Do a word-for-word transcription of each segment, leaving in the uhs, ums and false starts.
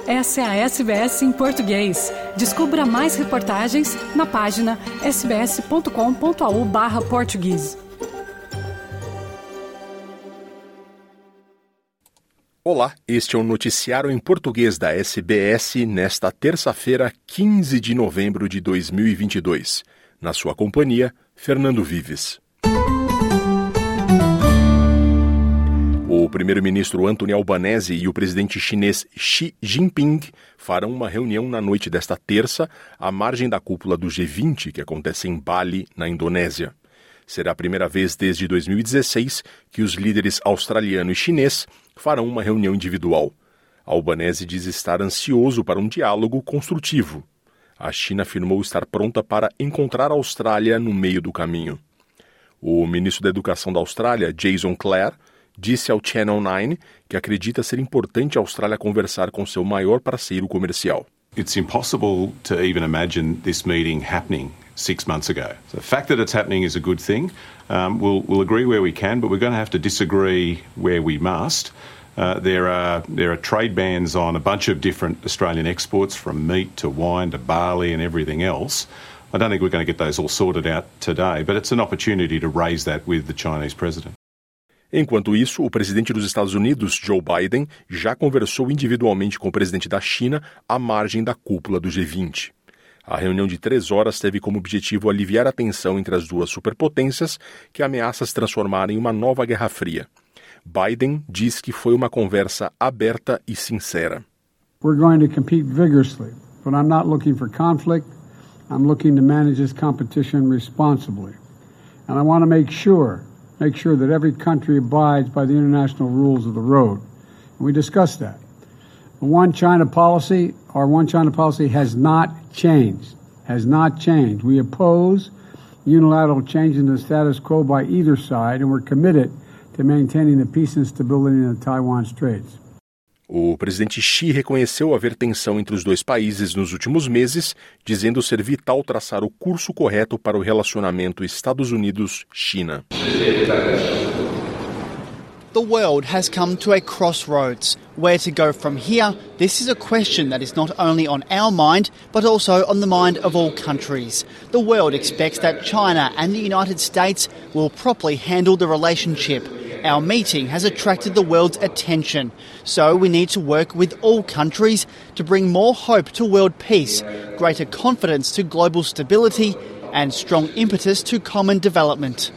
Essa é a S B S em português. Descubra mais reportagens na página sbs.com.au barra português. Olá, este é o noticiário em português da S B S nesta terça-feira, quinze de novembro de dois mil e vinte e dois. Na sua companhia, Fernando Vives. O primeiro-ministro Anthony Albanese e o presidente chinês Xi Jinping farão uma reunião na noite desta terça, à margem da cúpula do G vinte, que acontece em Bali, na Indonésia. Será a primeira vez desde dois mil e dezesseis que os líderes australiano e chinês farão uma reunião individual. Albanese diz estar ansioso para um diálogo construtivo. A China afirmou estar pronta para encontrar a Austrália no meio do caminho. O ministro da Educação da Austrália, Jason Clare, disse ao Channel nine que acredita ser importante a Austrália conversar com seu maior parceiro comercial. It's impossible to even imagine this meeting happening six months ago. So the fact that it's happening is a good thing. Um, we'll, we'll agree where we can, but we're going to have to disagree where we must. Uh, there are there are trade bans on a bunch of different Australian exports, from meat to wine to barley and everything else. I don't think we're going to get those all sorted out today, but it's an opportunity to raise that with the Chinese president. Enquanto isso, o presidente dos Estados Unidos, Joe Biden, já conversou individualmente com o presidente da China à margem da cúpula do G vinte. A reunião de três horas teve como objetivo aliviar a tensão entre as duas superpotências que ameaça se transformar em uma nova Guerra Fria. Biden diz que foi uma conversa aberta e sincera. We're going to compete vigorously, but I'm not looking for conflict. I'm looking to manage this competition responsibly. And I want to make sure make sure that every country abides by the international rules of the road. And we discussed that. The One China policy, our One China policy has not changed, has not changed. We oppose unilateral change in the status quo by either side, and we're committed to maintaining the peace and stability in the Taiwan Straits. O presidente Xi reconheceu haver tensão entre os dois países nos últimos meses, dizendo ser vital traçar o curso correto para o relacionamento Estados Unidos-China. The world has come to a crossroads. Where to go from here? This is a question that is not only on our mind, but also on the mind of all countries. The world expects that China and the United States will properly handle the relationship. Our meeting has attracted the world's attention, so we need to work with all countries to bring more hope to world peace, greater confidence to global stability, and strong impetus to common development.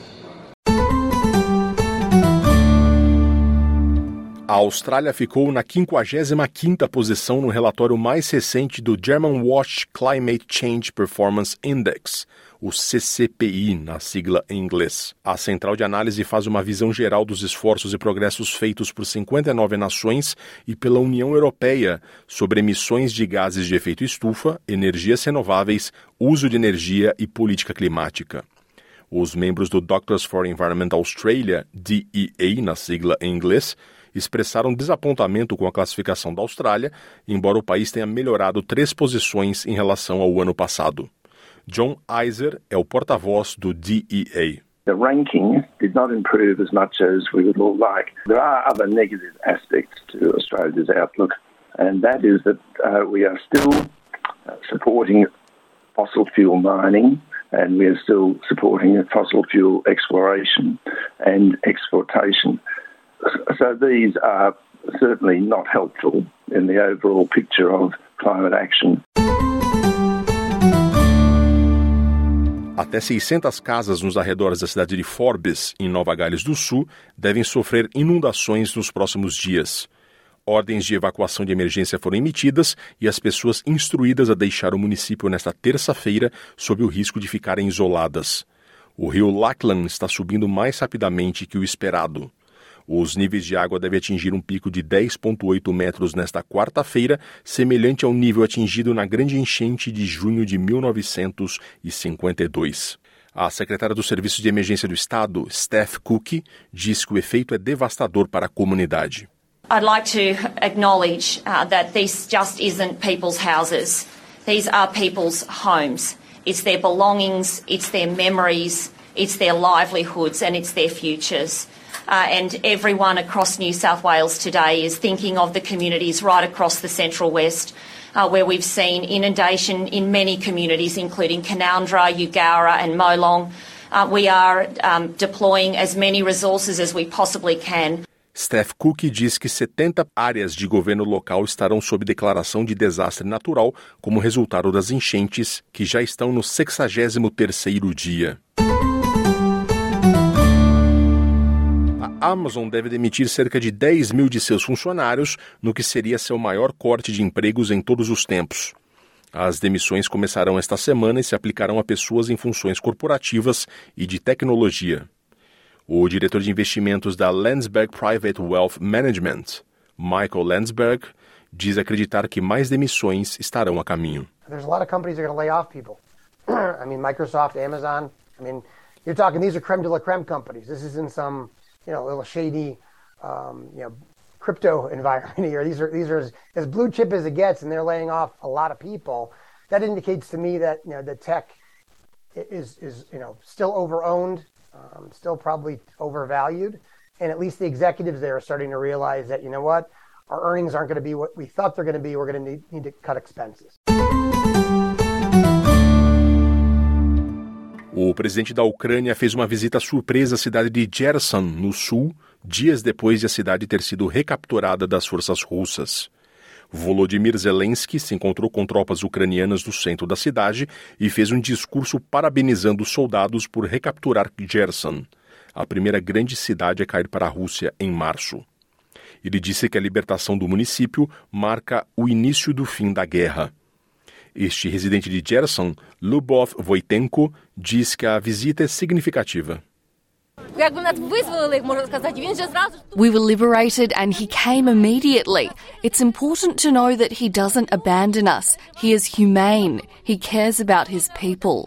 A Austrália ficou na quinquagésima quinta posição no relatório mais recente do Germanwatch Climate Change Performance Index, o C C P I, na sigla em inglês. A central de análise faz uma visão geral dos esforços e progressos feitos por cinquenta e nove nações e pela União Europeia sobre emissões de gases de efeito estufa, energias renováveis, uso de energia e política climática. Os membros do Doctors for Environment Australia, D E A, na sigla em inglês, expressaram desapontamento com a classificação da Austrália, embora o país tenha melhorado três posições em relação ao ano passado. John Iser é o porta-voz do D E A. The ranking did not improve as much as we would all like. There are other negative aspects to Australia's outlook, and that is that uh, we are still uh, supporting fossil fuel mining, and we are still supporting fossil fuel exploration and exportation. So these are certainly not helpful in the overall picture of climate action. Até seiscentas casas nos arredores da cidade de Forbes, em Nova Gales do Sul, devem sofrer inundações nos próximos dias. Ordens de evacuação de emergência foram emitidas e as pessoas instruídas a deixar o município nesta terça-feira sob o risco de ficarem isoladas. O rio Lachlan está subindo mais rapidamente que o esperado. Os níveis de água devem atingir um pico de dez vírgula oito metros nesta quarta-feira, semelhante ao nível atingido na grande enchente de junho de mil novecentos e cinquenta e dois. A secretária do Serviço de Emergência do Estado, Steph Cook, diz que o efeito é devastador para a comunidade. I'd like to acknowledge uh, that this just isn't people's houses. These are people's homes. It's their belongings, it's their memories, it's their livelihoods and it's their futures. Uh, and everyone across New South Wales today is thinking of the communities right across the Central West, uh, where we've seen inundation in many communities, including Canowindra, Eugowra and Molong. Uh, we are um, deploying as many resources as we possibly can. Steph Cook diz que setenta áreas de governo local estarão sob declaração de desastre natural como resultado das enchentes, que já estão no sexagésimo terceiro dia. A Amazon deve demitir cerca de dez mil de seus funcionários, no que seria seu maior corte de empregos em todos os tempos. As demissões começarão esta semana e se aplicarão a pessoas em funções corporativas e de tecnologia. O diretor de investimentos da Landsberg Private Wealth Management, Michael Landsberg, diz acreditar que mais demissões estarão a caminho. There's a lot of companies that are going to lay off people. I mean, Microsoft, Amazon. I mean, you're talking, these are creme de la creme companies. This isn't some, you know, little shady, um, you know, crypto environment here. These are these are as, as blue chip as it gets, and they're laying off a lot of people. That indicates to me that, you know, the tech is is you know still over-owned, um, still probably overvalued, and at least the executives there are starting to realize that, you know what, our earnings aren't going to be what we thought they're going to be. We're going to need, need to cut expenses. O presidente da Ucrânia fez uma visita surpresa à cidade de Kherson, no sul, dias depois de a cidade ter sido recapturada das forças russas. Volodymyr Zelensky se encontrou com tropas ucranianas no centro da cidade e fez um discurso parabenizando os soldados por recapturar Kherson, a primeira grande cidade a cair para a Rússia em março. Ele disse que a libertação do município marca o início do fim da guerra. Este residente de Kherson, Lubov Voitenko, diz que a visita é significativa. We were liberated and he came immediately. It's important to know that he doesn't abandon us. He is humane. He cares about his people.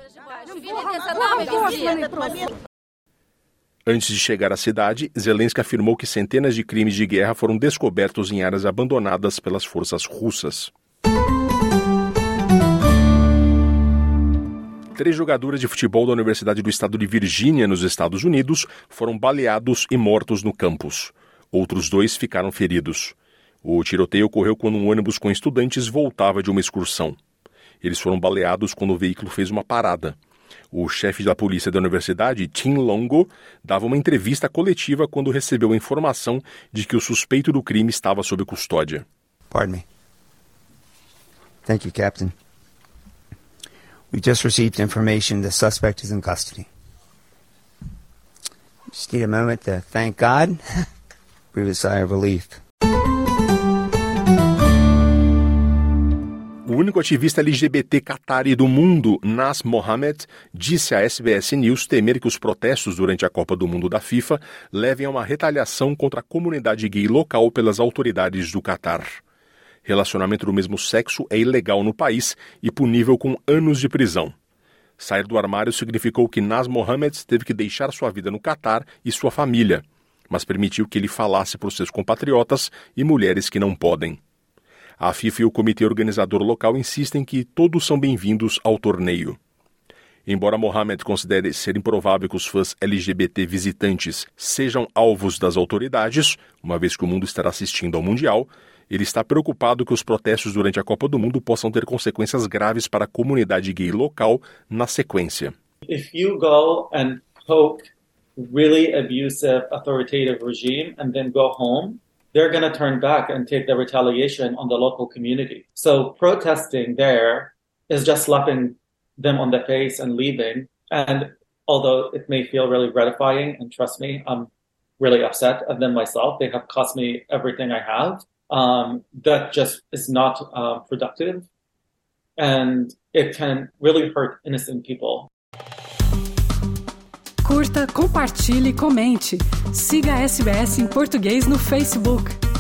Antes de chegar à cidade, Zelensky afirmou que centenas de crimes de guerra foram descobertos em áreas abandonadas pelas forças russas. Três jogadoras de futebol da Universidade do Estado de Virgínia, nos Estados Unidos, foram baleados e mortos no campus. Outros dois ficaram feridos. O tiroteio ocorreu quando um ônibus com estudantes voltava de uma excursão. Eles foram baleados quando o veículo fez uma parada. O chefe da polícia da universidade, Tim Longo, dava uma entrevista coletiva quando recebeu a informação de que o suspeito do crime estava sob custódia. Pardon me. Thank you, Captain. We just received information the suspect is in custody. Just need a moment to thank God. Breathe a sigh of relief. O único ativista L G B T qatari do mundo, Naz Mohammed, disse à S B S News temer que os protestos durante a Copa do Mundo da FIFA levem a uma retaliação contra a comunidade gay local pelas autoridades do Catar. Relacionamento do mesmo sexo é ilegal no país e punível com anos de prisão. Sair do armário significou que Naz Mohammed teve que deixar sua vida no Catar e sua família, mas permitiu que ele falasse por seus compatriotas e mulheres que não podem. A FIFA e o comitê organizador local insistem que todos são bem-vindos ao torneio. Embora Mohammed considere ser improvável que os fãs L G B T visitantes sejam alvos das autoridades, uma vez que o mundo estará assistindo ao Mundial, ele está preocupado que os protestos durante a Copa do Mundo possam ter consequências graves para a comunidade gay local na sequência. If you go and poke really abusive, authoritative regime and then go home, they're going to turn back and take the retaliation on the local community. So protesting there is just slapping them on the face and leaving. And although it may feel really gratifying, and trust me, I'm really upset at them myself. They have cost me everything I have. Um, that just is not uh, productive. And it can really hurt innocent people. Curta, compartilhe e comente. Siga a S B S em português no Facebook.